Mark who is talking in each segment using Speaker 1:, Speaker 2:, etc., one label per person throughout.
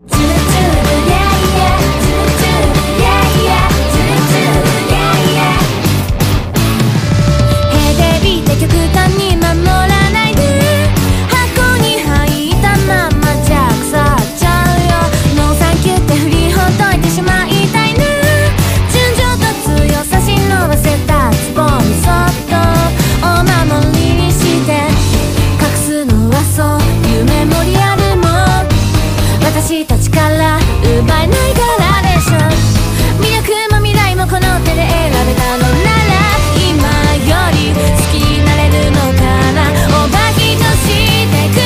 Speaker 1: 私たちから奪えないからでしょ。魅力も未来もこの手で選べたのなら今より好きになれるのかな。オーバーヒートしてく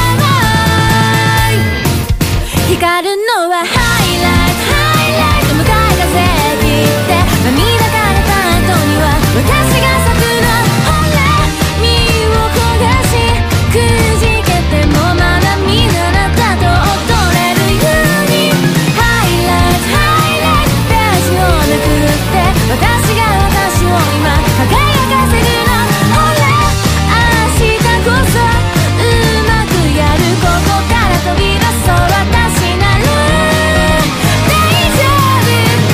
Speaker 1: 光るのはハイライトハイライト向かい風切って涙が出た後には私が咲くの。ほら身を焦がしくじけてもまだ見ぬあなたと踊れるようにハイライトハイライトページをめくって私が私を今輝かせるの。ほら明日こそうまくやるここから飛び出そう私なら大丈夫。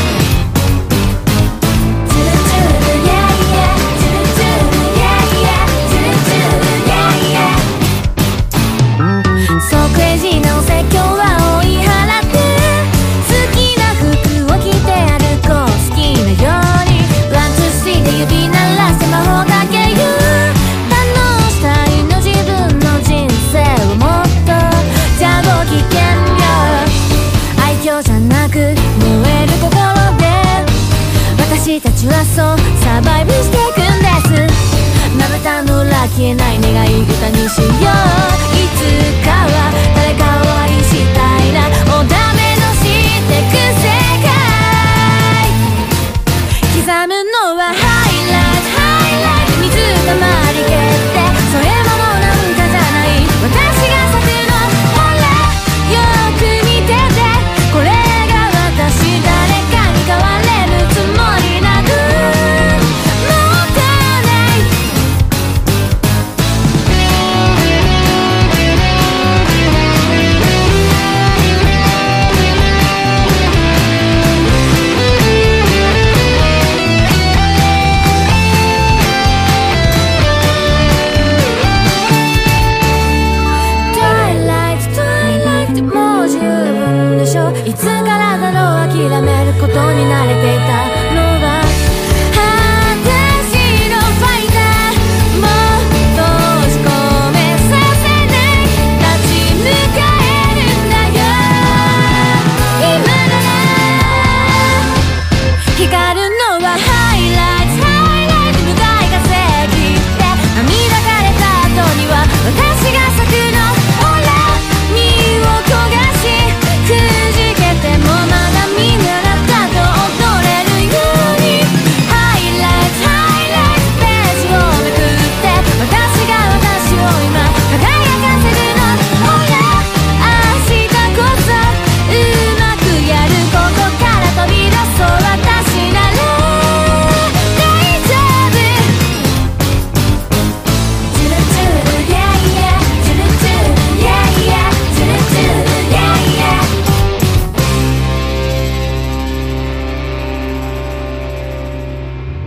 Speaker 1: チュルチュル yeah yeah チュルチュル yeah yeah チュルチュル yeah yeah そうクレイジーなお説教は追い払って好きな服を着て歩こう。好きなようにワンツースリーで指鳴らして魔法かけよう。堪能したいの自分の人生をもっとじゃあごきげんよう。愛嬌じゃなく燃える心で私たちはそうサバイブしていくんです。まぶたの裏消えない願い歌にしよう。いつかは誰かを愛したいな。おダメのしてく世界刻むのはハイライトハイライト水たまり蹴ってそれももうなんかじゃない私が咲くの。ほらよく見ててこれが私誰かに変われるつもりなくもったいない。Twilight Twilight もう十分でしょ。いつからだろう諦めることに慣れていた